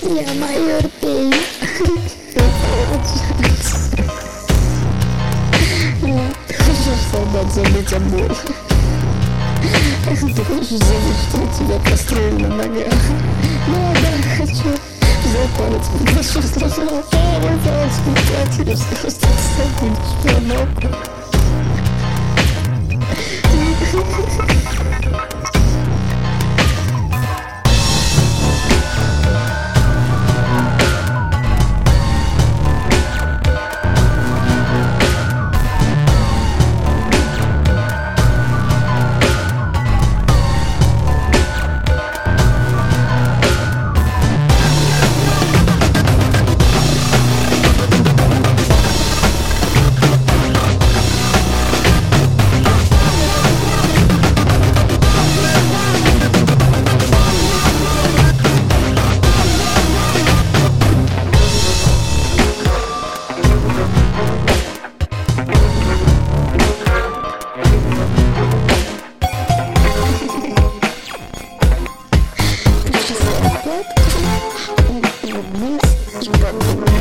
Я майор Пейн. Ты хочешь, солдат, забыть о боли? Ты хочешь забыть, что у тебя прострелили на ногах? Да, хочу. Взял палец, прошу, сложила. Мой палец не сказал, что ты забудешь про ногу. Вниз и подумай.